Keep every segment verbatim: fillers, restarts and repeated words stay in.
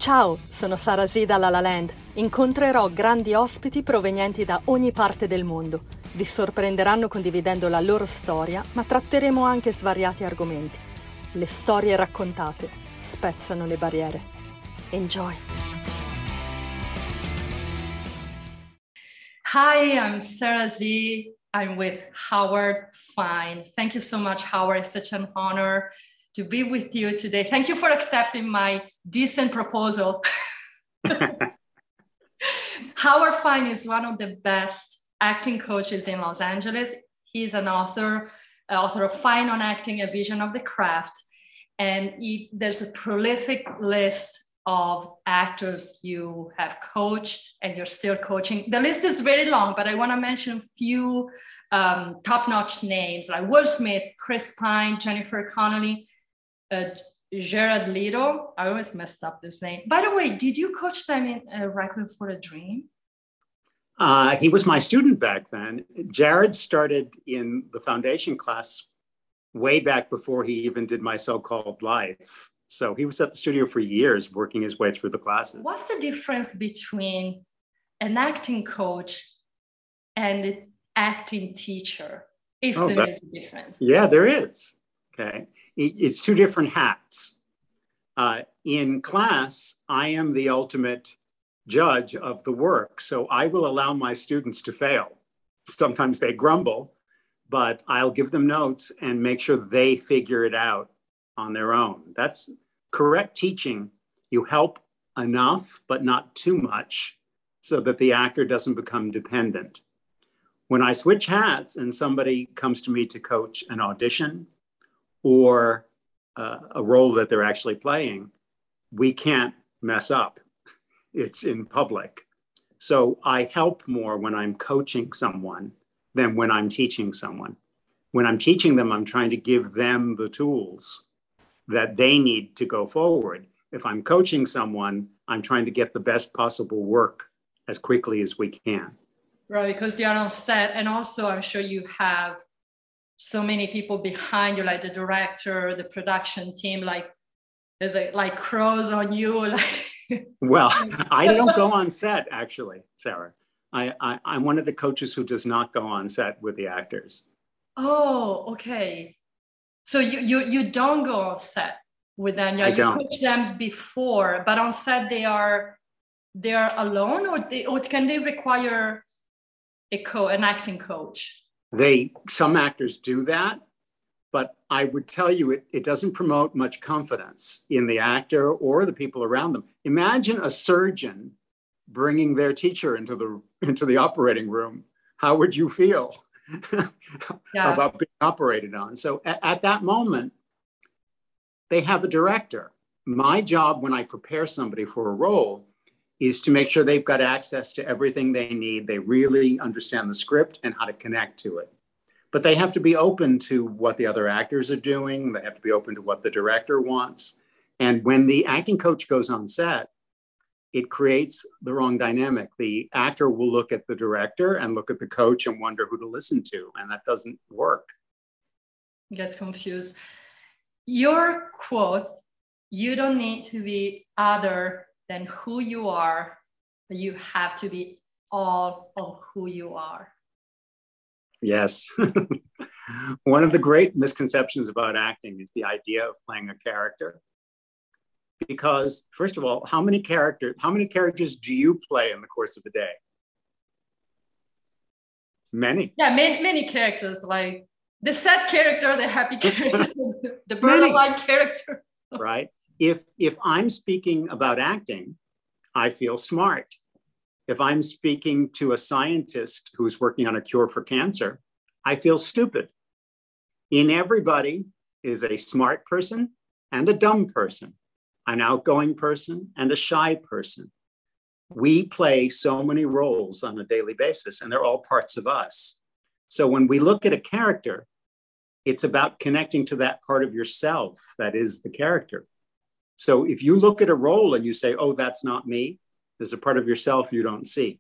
Ciao, sono Sara Z da La La Land. Incontrerò grandi ospiti provenienti da ogni parte del mondo. Vi sorprenderanno condividendo la loro storia, ma tratteremo anche svariati argomenti. Le storie raccontate spezzano le barriere. Enjoy! Hi, I'm Sara Z. I'm with Howard Fine. Thank you so much, Howard. It's such an honor to be with you today. Thank you for accepting my decent proposal. Howard Fine is one of the best acting coaches in Los Angeles. He's an author, author of Fine on Acting, A Vision of the Craft. And he, there's a prolific list of actors you have coached and you're still coaching. The list is very long, but I want to mention a few um, top-notch names like Will Smith, Chris Pine, Jennifer Connelly, uh, Jared Leto. I always messed up this name. By the way, did you coach them in uh, Requiem for a Dream? Uh, he was my student back then. Jared started in the foundation class way back before he even did my so-called life. So he was at the studio for years, working his way through the classes. What's the difference between an acting coach and an acting teacher, if oh, there that, is a difference? Yeah, there is. Okay. It's two different hats. Uh, in class, I am the ultimate judge of the work. So I will allow my students to fail. Sometimes they grumble, but I'll give them notes and make sure they figure it out on their own. That's correct teaching. You help enough, but not too much, so that the actor doesn't become dependent. When I switch hats and somebody comes to me to coach an audition or uh, a role that they're actually playing, we can't mess up. It's in public. So I help more when I'm coaching someone than when I'm teaching someone. When I'm teaching them, I'm trying to give them the tools that they need to go forward. If I'm coaching someone, I'm trying to get the best possible work as quickly as we can. Right, because you're on set, and also I'm sure you have so many people behind you, like the director, the production team, like there's a, like crows on you. Like well, I don't go on set, actually, Sarah. I, I, I'm one of the coaches who does not go on set with the actors. Oh, okay. So you you you don't go on set with them. Yeah, you don't. coach them before, but on set they are they are alone, or they or can they require a co an acting coach? They some actors do that, but I would tell you it, it doesn't promote much confidence in the actor or the people around them. Imagine a surgeon bringing their teacher into the into the operating room. How would you feel? Yeah. About being operated on? So at, at that moment, they have a director. My job when I prepare somebody for a role is to make sure they've got access to everything they need. They really understand the script and how to connect to it. But they have to be open to what the other actors are doing. They have to be open to what the director wants. And when the acting coach goes on set, it creates the wrong dynamic. The actor will look at the director and look at the coach and wonder who to listen to, and that doesn't work. Gets confused. Your quote, you don't need to be other than who you are, but you have to be all of who you are. Yes. One of the great misconceptions about acting is the idea of playing a character. Because first of all, how many characters, how many characters do you play in the course of a day? Many. Yeah, many, many characters, like the sad character, the happy character, the borderline character. Right. If if I'm speaking about acting, I feel smart. If I'm speaking to a scientist who's working on a cure for cancer, I feel stupid. In everybody is a smart person and a dumb person, an outgoing person and a shy person. We play so many roles on a daily basis, and they're all parts of us. So when we look at a character, it's about connecting to that part of yourself that is the character. So if you look at a role and you say, oh, that's not me, there's a part of yourself you don't see.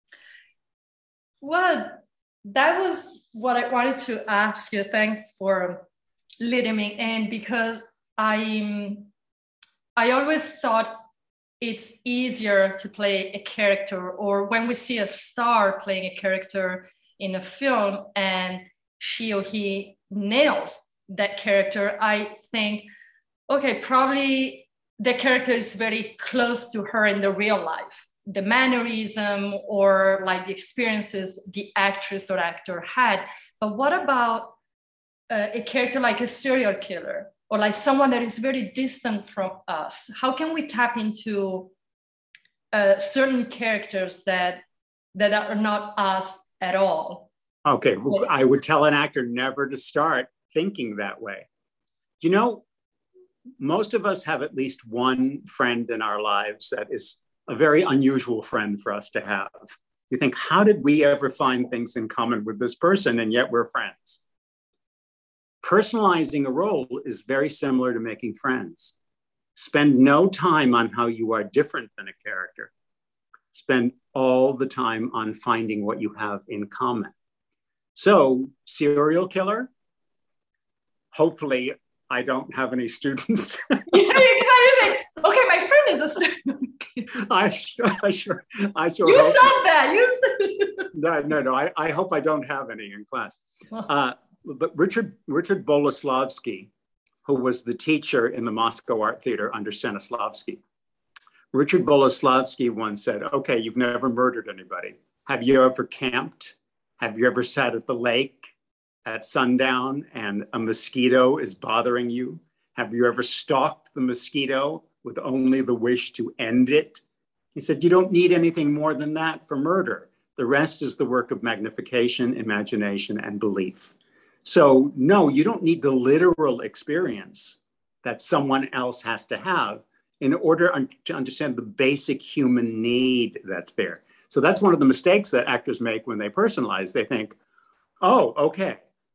Well, that was what I wanted to ask you. Thanks for leading me in, because I I always thought it's easier to play a character, or when we see a star playing a character in a film and she or he nails that character, I think, okay, probably the character is very close to her in the real life, the mannerism or like the experiences the actress or actor had. But what about uh, a character like a serial killer, or like someone that is very distant from us? How can we tap into uh, certain characters that that are not us at all? Okay, well, I would tell an actor never to start thinking that way. You know, most of us have at least one friend in our lives that is a very unusual friend for us to have. You think, how did we ever find things in common with this person, and yet we're friends? Personalizing a role is very similar to making friends. Spend no time on how you are different than a character. Spend all the time on finding what you have in common. So, serial killer, hopefully I don't have any students. Yeah, because I was like, okay, my friend is a serial killer. I sure, I sure, I sure you hope said not. that. You said no, no, no. I, I hope I don't have any in class. Uh, but Richard Richard Boleslavsky, who was the teacher in the Moscow Art Theater under Stanislavski, Richard Boleslavsky once said, okay, you've never murdered anybody. Have you ever camped? Have you ever sat at the lake at sundown and a mosquito is bothering you? Have you ever stalked the mosquito with only the wish to end it? He said, you don't need anything more than that for murder. The rest is the work of magnification, imagination, and belief. So no, you don't need the literal experience that someone else has to have in order un- to understand the basic human need that's there. So that's one of the mistakes that actors make when they personalize. They think, oh, okay,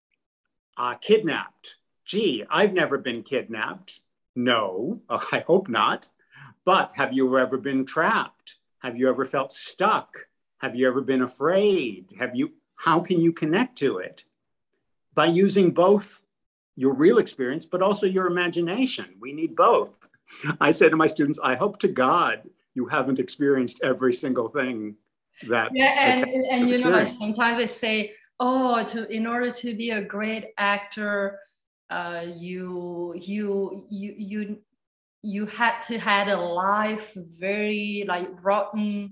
uh, kidnapped. Gee, I've never been kidnapped. No, I hope not. But have you ever been trapped? Have you ever felt stuck? Have you ever been afraid? Have you, how can you connect to it? By using both your real experience, but also your imagination. We need both. I say to my students, I hope to God you haven't experienced every single thing that. Yeah, and, and, and you know, like sometimes they say, oh, to in order to be a great actor, uh, you you you you you had to had a life very like rotten,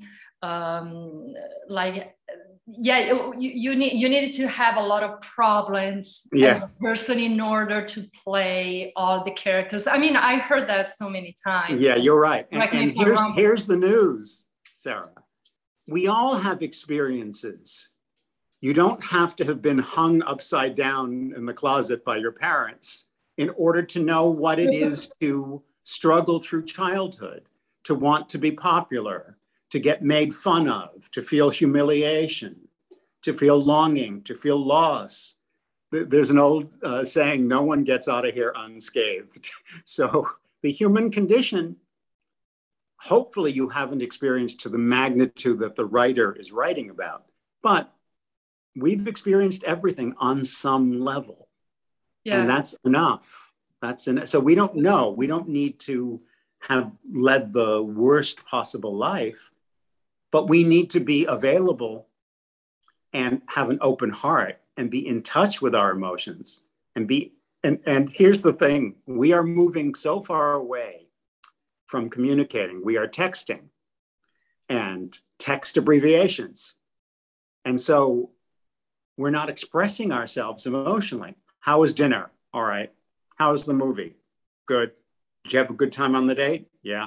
um, like yeah, you, you need you needed to have a lot of problems yeah. as a person in order to play all the characters. I mean, I heard that so many times. Yeah, you're right. And, and here's here's the news, Sarah. We all have experiences. You don't have to have been hung upside down in the closet by your parents in order to know what it is to struggle through childhood, to want to be popular, to get made fun of, to feel humiliation, to feel longing, to feel loss. There's an old uh, saying, no one gets out of here unscathed. So the human condition, hopefully you haven't experienced to the magnitude that the writer is writing about, but we've experienced everything on some level. Yeah. And that's enough. That's enough. So we don't know, we don't need to have led the worst possible life, but we need to be available and have an open heart and be in touch with our emotions and be, and, and here's the thing, we are moving so far away from communicating. We are texting and text abbreviations. And so we're not expressing ourselves emotionally. How was dinner? All right. How was the movie? Good. Did you have a good time on the date? Yeah.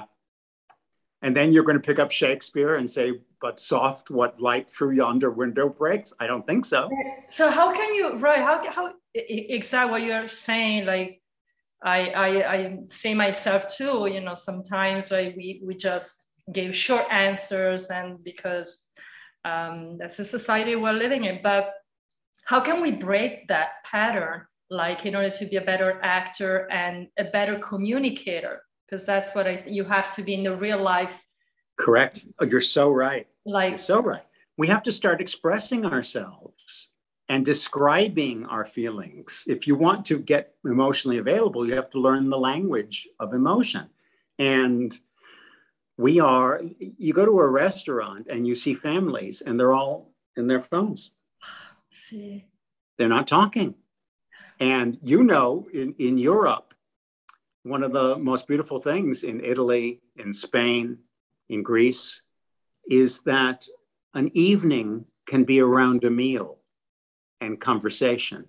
And then you're going to pick up Shakespeare and say, but soft, what light through yonder window breaks? I don't think so. So how can you, right, how, how exactly what you're saying, like, I, I, I say myself too, you know, sometimes like, we, we just gave short answers and because um, that's the society we're living in. But how can we break that pattern, like in order to be a better actor and a better communicator? Because that's what I, you have to be in the real life. Correct. Oh, you're so right. Like, you're so right. We have to start expressing ourselves and describing our feelings. If you want to get emotionally available, you have to learn the language of emotion. And We are, you go to a restaurant and you see families and they're all in their phones. See. They're not talking. And you know, in, in Europe, one of the most beautiful things in Italy, in Spain, in Greece, is that an evening can be around a meal and conversation.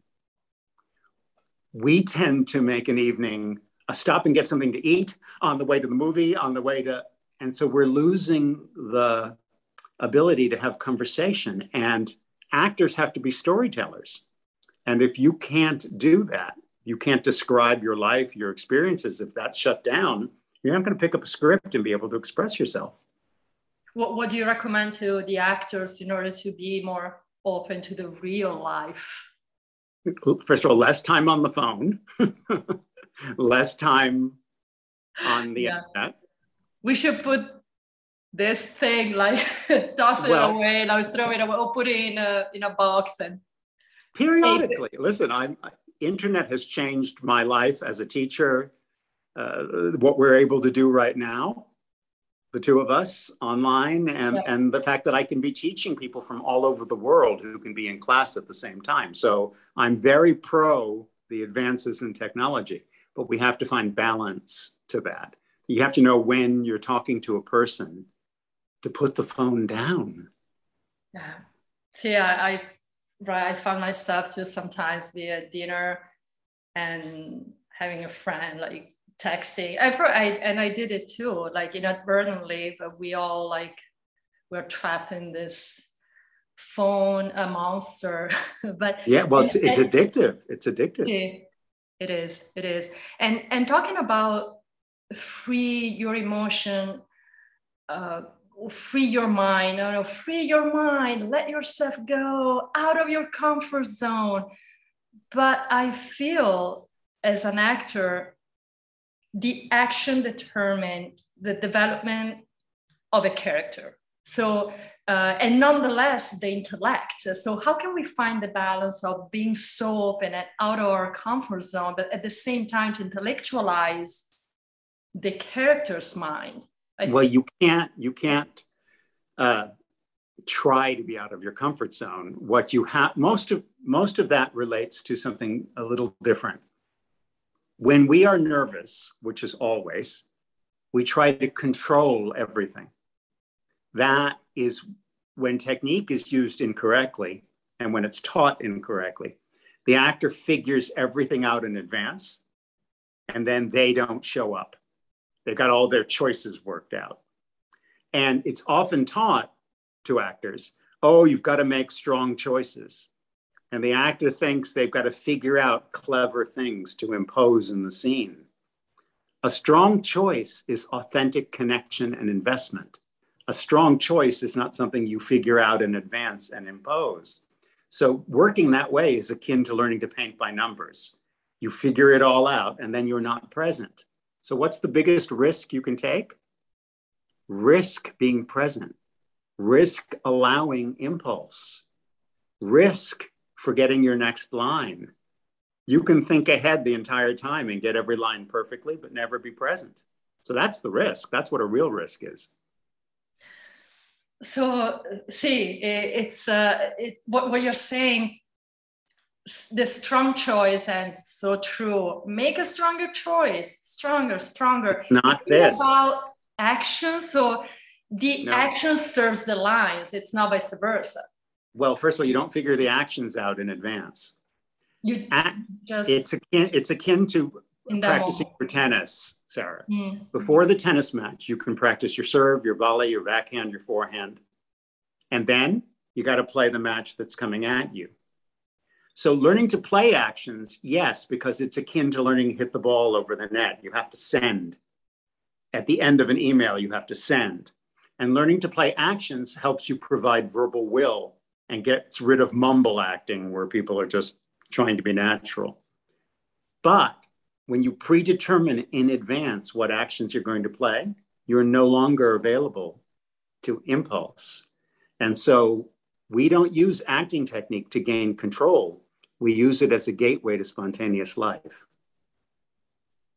We tend to make an evening a stop and get something to eat on the way to the movie, on the way to, and so we're losing the ability to have conversation, and actors have to be storytellers. And if you can't do that, you can't describe your life, your experiences. If that's shut down, you're not going to pick up a script and be able to express yourself. What, what do you recommend to the actors in order to be more open to the real life? First of all, less time on the phone, less time on the yeah. internet. We should put this thing, like toss it well, away, like throw it away, or put it in a in a box and periodically. Listen, I'm internet has changed my life as a teacher. Uh, what we're able to do right now, the two of us online, and yeah. and the fact that I can be teaching people from all over the world who can be in class at the same time. So I'm very pro the advances in technology, but we have to find balance to that. You have to know when you're talking to a person to put the phone down. Yeah. See, I, I, right, I found myself too sometimes be at dinner and having a friend like texting. I, I and I did it too, like inadvertently, but we all like we're trapped in this phone, a monster. But yeah, well, it's, and, it's and, addictive. It's addictive. It, it is. It is. And and talking about free your emotion, uh, free your mind, no, no, free your mind, let yourself go out of your comfort zone. But I feel as an actor, the action determines the development of a character. So, uh, and nonetheless, the intellect. So how can we find the balance of being so open and out of our comfort zone, but at the same time to intellectualize the character's mind? I well, you can't, you can't uh, try to be out of your comfort zone. What you have, most of, most of that relates to something a little different. When we are nervous, which is always, we try to control everything. That is when technique is used incorrectly and when it's taught incorrectly. The actor figures everything out in advance and then they don't show up. They've got all their choices worked out. And it's often taught to actors, oh, you've got to make strong choices. And the actor thinks they've got to figure out clever things to impose in the scene. A strong choice is authentic connection and investment. A strong choice is not something you figure out in advance and impose. So working that way is akin to learning to paint by numbers. You figure it all out and then you're not present. So what's the biggest risk you can take? Risk being present. Risk allowing impulse. Risk forgetting your next line. You can think ahead the entire time and get every line perfectly, but never be present. So that's the risk. That's what a real risk is. So, see, it's uh, it, what, what you're saying, the strong choice, and so true. Make a stronger choice, stronger, stronger. It's not this. About action. So the no. action serves the lines. It's not vice versa. Well, first of all, you don't figure the actions out in advance. You just it's akin, it's akin to practicing for tennis, Sarah. Mm. Before the tennis match, you can practice your serve, your volley, your backhand, your forehand. And then you got to play the match that's coming at you. So learning to play actions, yes, because it's akin to learning to hit the ball over the net. You have to send. At the end of an email, you have to send. And learning to play actions helps you provide verbal will and gets rid of mumble acting where people are just trying to be natural. But when you predetermine in advance what actions you're going to play, you're no longer available to impulse. And so we don't use acting technique to gain control. We use it as a gateway to spontaneous life.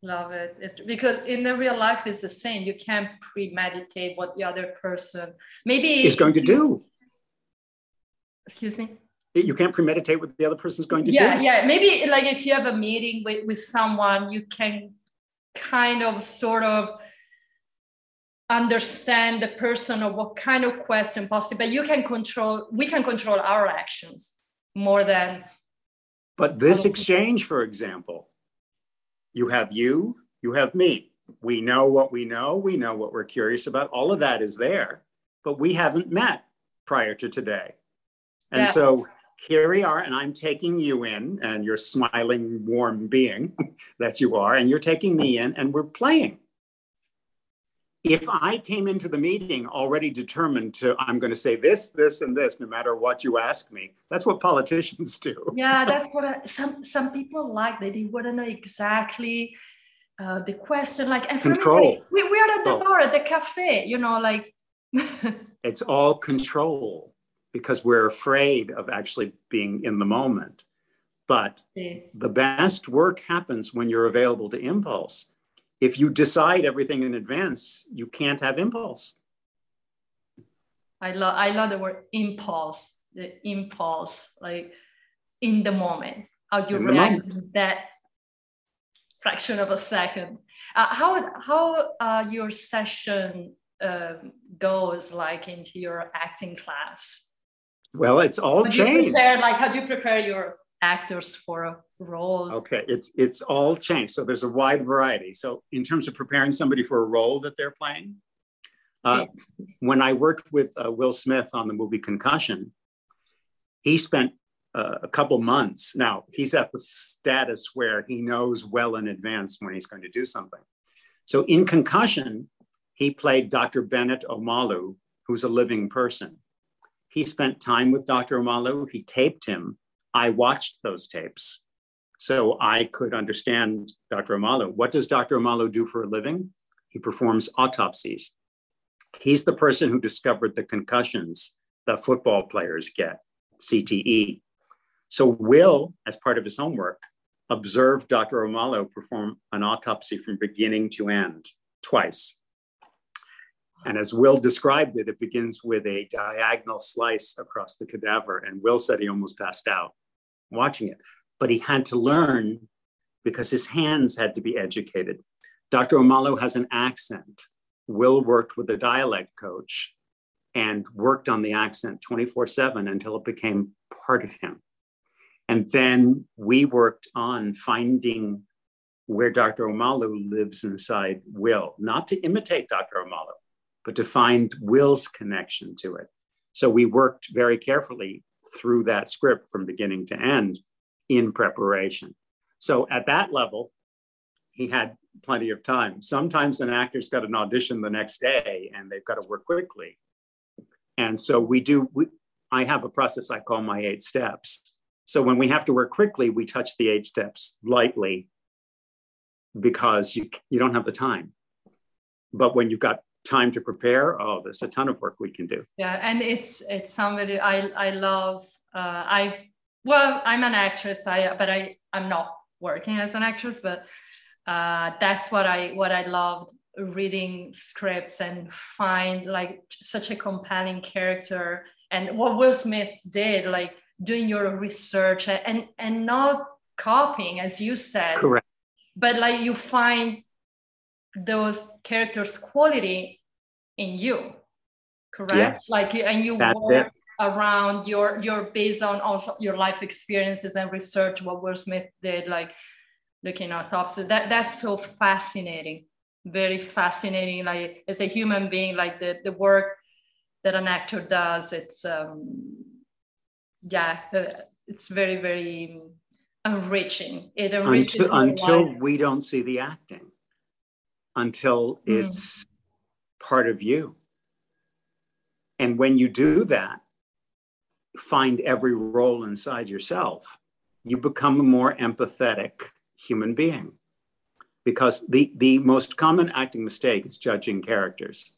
Love it. It's, because in the real life, it's the same. You can't premeditate what the other person maybe is going to do. Excuse me? You can't premeditate what the other person is going to yeah, do. Yeah, maybe like if you have a meeting with, with someone, you can kind of sort of understand the person or what kind of question possible, but you can control, we can control our actions more than. But this exchange, for example, you have you, you have me. We know what we know, we know what we're curious about. All of that is there, but we haven't met prior to today. And yeah. So here we are, and I'm taking you in, and you're smiling, warm being that you are, and you're taking me in, and we're playing. If I came into the meeting already determined to, I'm going to say this, this, and this, no matter what you ask me, that's what politicians do. Yeah, that's what I, some some people like. They, they want to know exactly uh, the question, like, and control. Me, we, we are at the bar, at the cafe, you know, like. It's all control because we're afraid of actually being in the moment. But yeah. The best work happens when you're available to impulse. If you decide everything in advance, you can't have impulse. I love I love the word impulse, the impulse, like in the moment, how you react in that fraction of a second. Uh, how how uh, your session um, goes, like into your acting class? Well, it's all how changed. You prepare, like, how do you prepare your actors for roles? Okay, it's it's all changed. So there's a wide variety. So in terms of preparing somebody for a role that they're playing, uh, when I worked with uh, Will Smith on the movie Concussion, he spent uh, a couple months. Now he's at the status where he knows well in advance when he's going to do something. So in Concussion, he played Doctor Bennett Omalu, who's a living person. He spent time with Doctor Omalu. He taped him. I watched those tapes so I could understand Doctor Omalu. What does Doctor Omalu do for a living? He performs autopsies. He's the person who discovered the concussions that football players get, C T E. So Will, as part of his homework, observed Doctor Omalu perform an autopsy from beginning to end twice. And as Will described it, it begins with a diagonal slice across the cadaver. And Will said he almost passed out watching it, but he had to learn because his hands had to be educated. Doctor Omalu has an accent. Will worked with a dialect coach and worked on the accent twenty-four seven until it became part of him. And then we worked on finding where Doctor Omalu lives inside Will, not to imitate Doctor Omalu, but to find Will's connection to it. So we worked very carefully through that script from beginning to end in preparation. So at that level, he had plenty of time. Sometimes an actor's got an audition the next day and they've got to work quickly. And so we do, we, I have a process I call my eight steps. So when we have to work quickly, we touch the eight steps lightly because you, you don't have the time. But when you've got time to prepare, oh, there's a ton of work we can do. Yeah, and it's it's somebody I I love. Uh, I well, I'm an actress, I but I I'm not working as an actress, but uh, that's what I what I loved, reading scripts and find like such a compelling character, and what Will Smith did, like doing your research and and not copying, as you said. Correct. But like you find those characters' quality in you, correct? Yes. Like, and you That's work it. around your, your based on also your life experiences and research, what Will Smith did, like looking at thoughts. So that, that's so fascinating, very fascinating. Like as a human being, like the, the work that an actor does, it's, um, yeah, it's very, very enriching. It enriches until, until life. We don't see the acting. Until it's mm. part of you. And when you do that, find every role inside yourself, you become a more empathetic human being. Because the, the most common acting mistake is judging characters.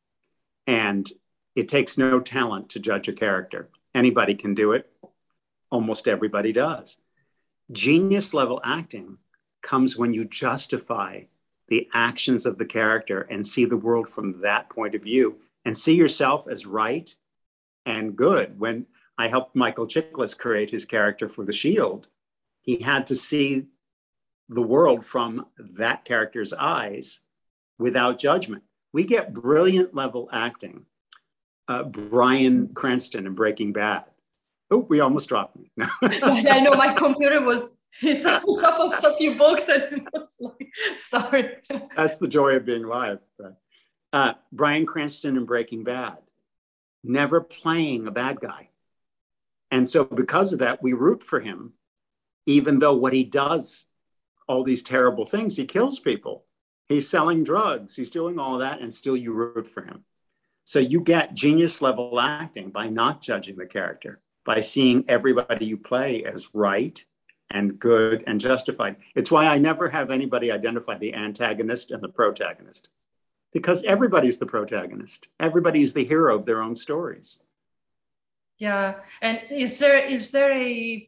And it takes no talent to judge a character. Anybody can do it. Almost everybody does. Genius level acting comes when you justify the actions of the character and see the world from that point of view and see yourself as right and good. When I helped Michael Chiklis create his character for The Shield, he had to see the world from that character's eyes without judgment. We get brilliant level acting. Uh, Bryan Cranston in Breaking Bad. Oh, we almost dropped me. I know my computer was, it's a couple of few books and it was like, sorry. That's the joy of being live. But, uh, Bryan Cranston in Breaking Bad, never playing a bad guy. And so because of that, we root for him, even though what he does, all these terrible things, he kills people. He's selling drugs, he's doing all of that, and still you root for him. So you get genius level acting by not judging the character, by seeing everybody you play as right and good and justified. It's why I never have anybody identify the antagonist and the protagonist, because everybody's the protagonist. Everybody's the hero of their own stories. Yeah, and is there is there a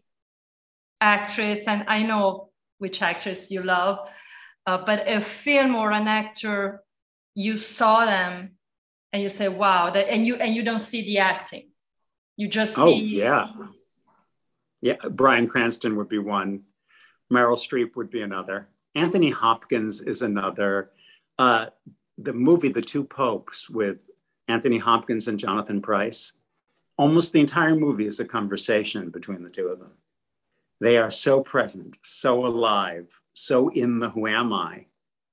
actress, and I know which actress you love, uh, but a film or an actor, you saw them and you say, wow, that, and you and you don't see the acting. You just see. Oh, yeah. Yeah, Bryan Cranston would be one. Meryl Streep would be another. Anthony Hopkins is another. Uh, the movie, The Two Popes, with Anthony Hopkins and Jonathan Pryce, almost the entire movie is a conversation between the two of them. They are so present, so alive, so in the who am I.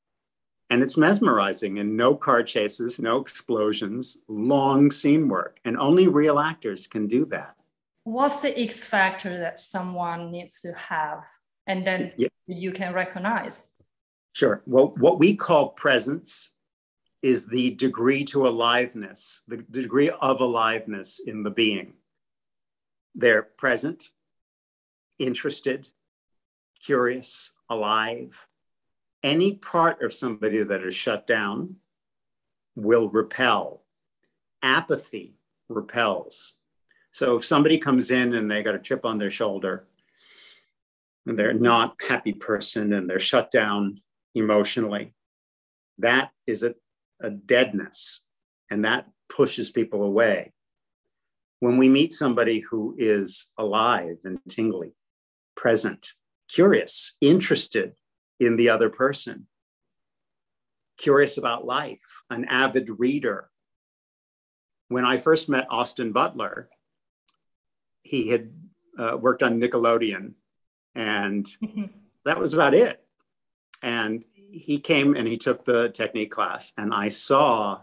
And it's mesmerizing, and no car chases, no explosions, long scene work. And only real actors can do that. What's the X factor that someone needs to have and then yeah. you can recognize? Sure. Well, what we call presence is the degree to aliveness, the degree of aliveness in the being. They're present, interested, curious, alive. Any part of somebody that is shut down will repel. Apathy repels. So if somebody comes in and they got a chip on their shoulder and they're not a happy person and they're shut down emotionally, that is a, a deadness, and that pushes people away. When we meet somebody who is alive and tingly, present, curious, interested in the other person, curious about life, an avid reader. When I first met Austin Butler, he had uh, worked on Nickelodeon, and that was about it. And he came and he took the technique class, and I saw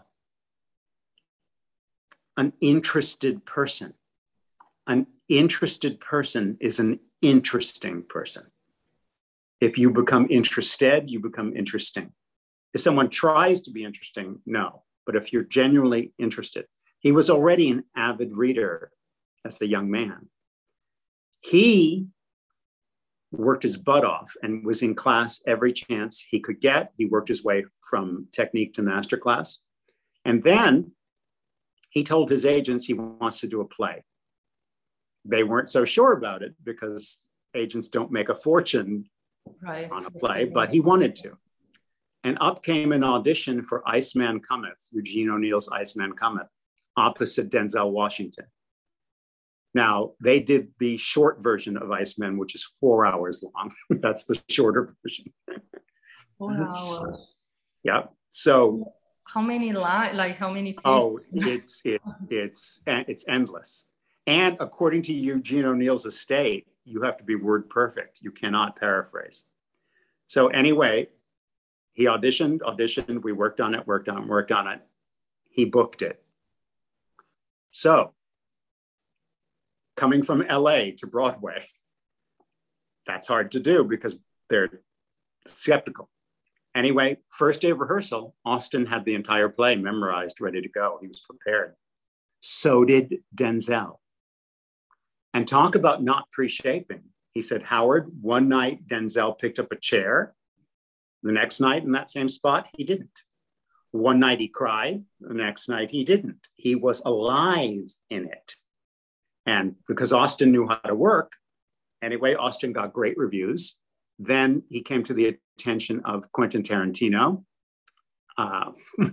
an interested person. An interested person is an interesting person. If you become interested, you become interesting. If someone tries to be interesting, no. But if you're genuinely interested, he was already an avid reader as a young man. He worked his butt off and was in class every chance he could get. He worked his way from technique to master class. And then he told his agents he wants to do a play. They weren't so sure about it because agents don't make a fortune right. on a play, but he wanted to. And up came an audition for Iceman Cometh, Eugene O'Neill's Iceman Cometh, opposite Denzel Washington. Now, they did the short version of Iceman, which is four hours long. That's the shorter version. Wow. So, yeah. So how many lines, like how many people? Oh, it's it, it's it's endless. And according to Eugene O'Neill's estate, you have to be word perfect. You cannot paraphrase. So anyway, he auditioned, auditioned, we worked on it, worked on it, worked on it. He booked it. So coming from L A to Broadway, that's hard to do because they're skeptical. Anyway, first day of rehearsal, Austin had the entire play memorized, ready to go. He was prepared. So did Denzel. And talk about not pre-shaping. He said, Howard, one night Denzel picked up a chair. The next night in that same spot, he didn't. One night he cried. The next night he didn't. He was alive in it. And because Austin knew how to work, anyway, Austin got great reviews. Then he came to the attention of Quentin Tarantino. Uh,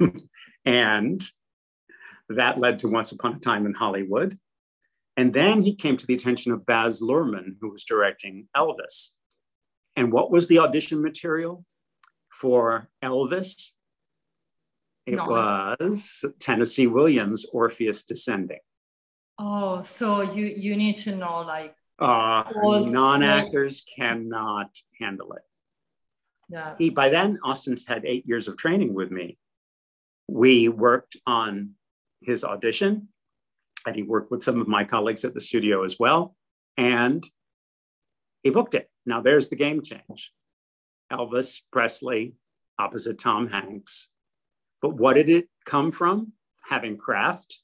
and that led to Once Upon a Time in Hollywood. And then he came to the attention of Baz Luhrmann, who was directing Elvis. And what was the audition material for Elvis? It no. was Tennessee Williams' Orpheus Descending. Oh, so you, you need to know, like... Uh, non-actors cannot handle it. Yeah. He, by then, Austin's had eight years of training with me. We worked on his audition, and he worked with some of my colleagues at the studio as well, and he booked it. Now there's the game change. Elvis Presley opposite Tom Hanks. But what did it come from? Having craft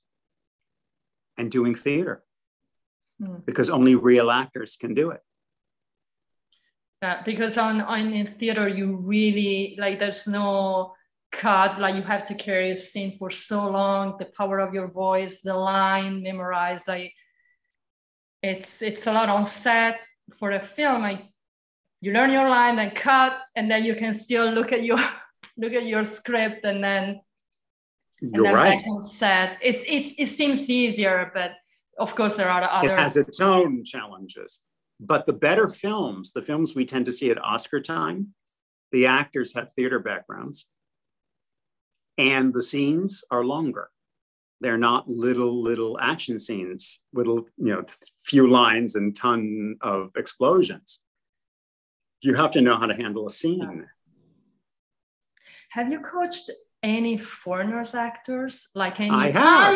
and doing theater. Hmm. Because only real actors can do it. Yeah, because on, on in theater, you really, like, there's no cut, like you have to carry a scene for so long, the power of your voice, the line memorized. Like, it's it's a lot on set. For a film, like, you learn your line, then cut, and then you can still look at your look at your script, and then you're and then right. back on set. It it it seems easier, but of course there are other. It has its own challenges. But the better films, the films we tend to see at Oscar time, the actors have theater backgrounds, and the scenes are longer. They're not little, little action scenes, little, you know, few lines and ton of explosions. You have to know how to handle a scene. Have you coached any foreigners actors? Like any I have.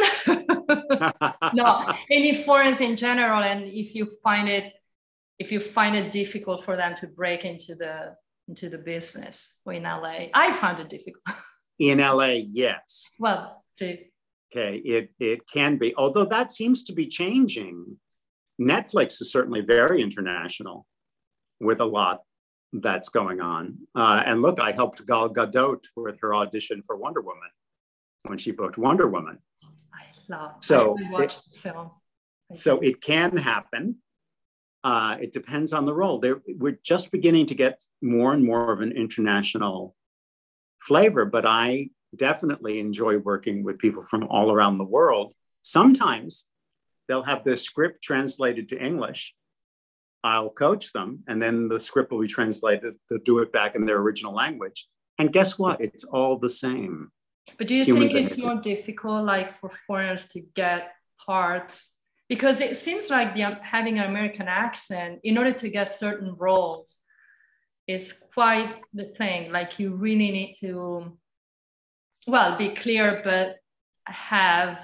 Italian? No, any foreigners in general. And if you find it, if you find it difficult for them to break into the into the business or in L A, I found it difficult. In L A, yes. Well, see. Okay, it, it can be, although that seems to be changing. Netflix is certainly very international with a lot that's going on. Uh, and look, I helped Gal Gadot with her audition for Wonder Woman when she booked Wonder Woman. I love so I watched it, the film. So it can happen. Uh, it depends on the role. They're, we're just beginning to get more and more of an international flavor, but I definitely enjoy working with people from all around the world. Sometimes they'll have the script translated to English. I'll coach them, and then the script will be translated. They'll do it back in their original language. And guess what? It's all the same. But do you Human think it's behavior. more difficult, like, for foreigners to get parts? Because it seems like the, having an American accent, in order to get certain roles, is quite the thing. Like, you really need to, well, be clear, but have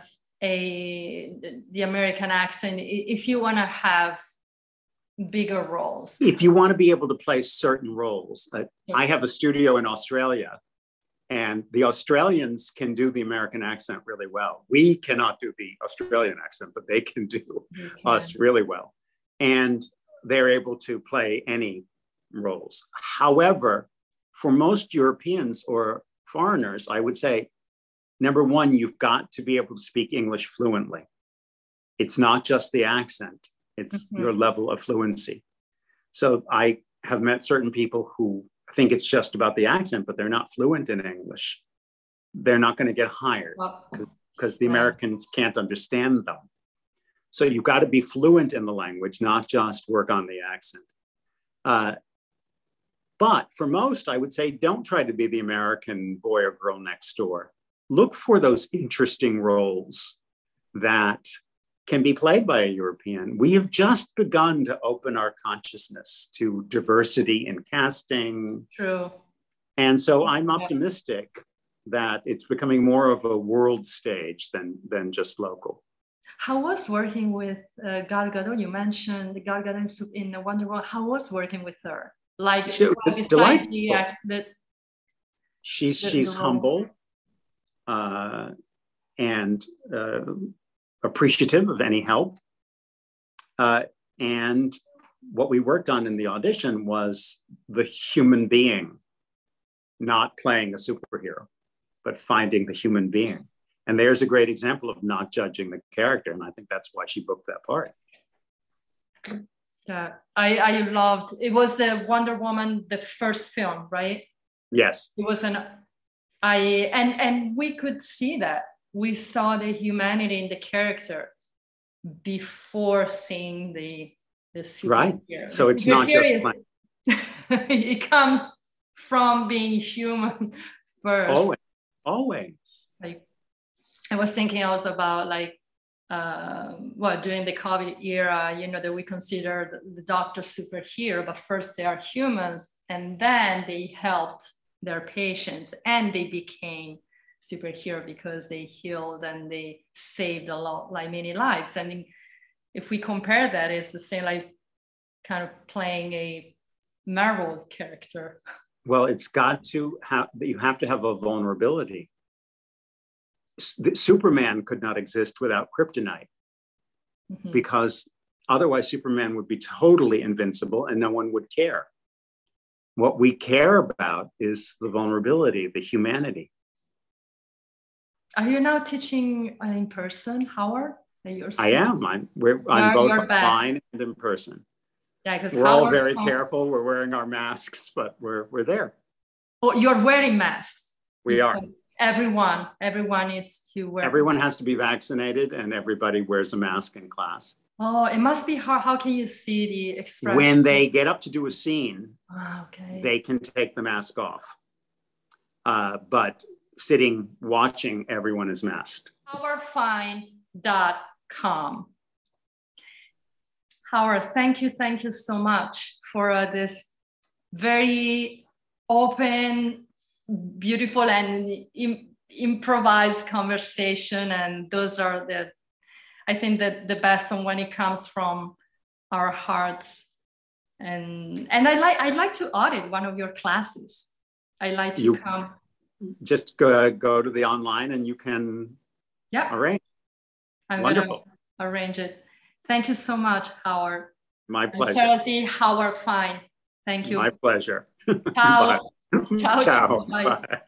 a the American accent if you want to have bigger roles. If you want to be able to play certain roles. Uh, I have a studio in Australia, and the Australians can do the American accent really well. We cannot do the Australian accent, but they can do can. us really well. And they're able to play any roles. However, for most Europeans or foreigners, I would say, number one, you've got to be able to speak English fluently. It's not just the accent, it's mm-hmm. your level of fluency. So I have met certain people who think it's just about the accent, but they're not fluent in English. They're not going to get hired because the Americans can't understand them. So you've got to be fluent in the language, not just work on the accent. Uh, But for most, I would say, don't try to be the American boy or girl next door. Look for those interesting roles that can be played by a European. We have just begun to open our consciousness to diversity in casting. True. And so I'm optimistic that it's becoming more of a world stage than, than just local. How was working with uh, Gal Gadot? You mentioned Gal Gadot in Wonder Woman. How was working with her? Like, she, delightful. The, the, she's the, she's the humble uh, and uh, appreciative of any help. Uh, and what we worked on in the audition was the human being, not playing a superhero, but finding the human being. And there's a great example of not judging the character. And I think that's why she booked that part. Yeah, I, I loved, it was the Wonder Woman, the first film, right? Yes. It was an, I, and, and we could see that. We saw the humanity in the character before seeing the, the superhero. Right. So it's not just fun. It comes from being human first. Always. Always. Like, I was thinking also about like, uh, well, during the COVID era, you know, that we consider the, the doctors superhero, but first they are humans, and then they helped their patients, and they became superhero because they healed and they saved a lot, like many lives. And if we compare that, it's the same, like kind of playing a Marvel character. Well, it's got to have, you have to have a vulnerability. Superman could not exist without kryptonite, mm-hmm. because otherwise Superman would be totally invincible and no one would care. What we care about is the vulnerability, the humanity. Are you now teaching in person, Howard? I am. I'm, we're, I'm both online and in person. Yeah, because we're Howard's all very home. careful. We're wearing our masks, but we're we're there. Oh, you're wearing masks. We are. Everyone, everyone needs to wear. Everyone has to be vaccinated, and everybody wears a mask in class. Oh, it must be hard. How can you see the expression? When they get up to do a scene, oh, okay. they can take the mask off. Uh, but sitting, watching, everyone is masked. howard fine dot com. Howard, thank you, thank you so much for uh, this very open, beautiful and im- improvised conversation. And those are the, I think that the best one when it comes from our hearts. And and I like I'd like to audit one of your classes. I like to you come. Just go go to the online and you can yeah arrange. I'm Wonderful. Gonna arrange it. Thank you so much, Howard. My pleasure. Charity, Howard Fine. Thank you. My pleasure. Ciao. Bye. Ciao. Ciao. Bye. Bye.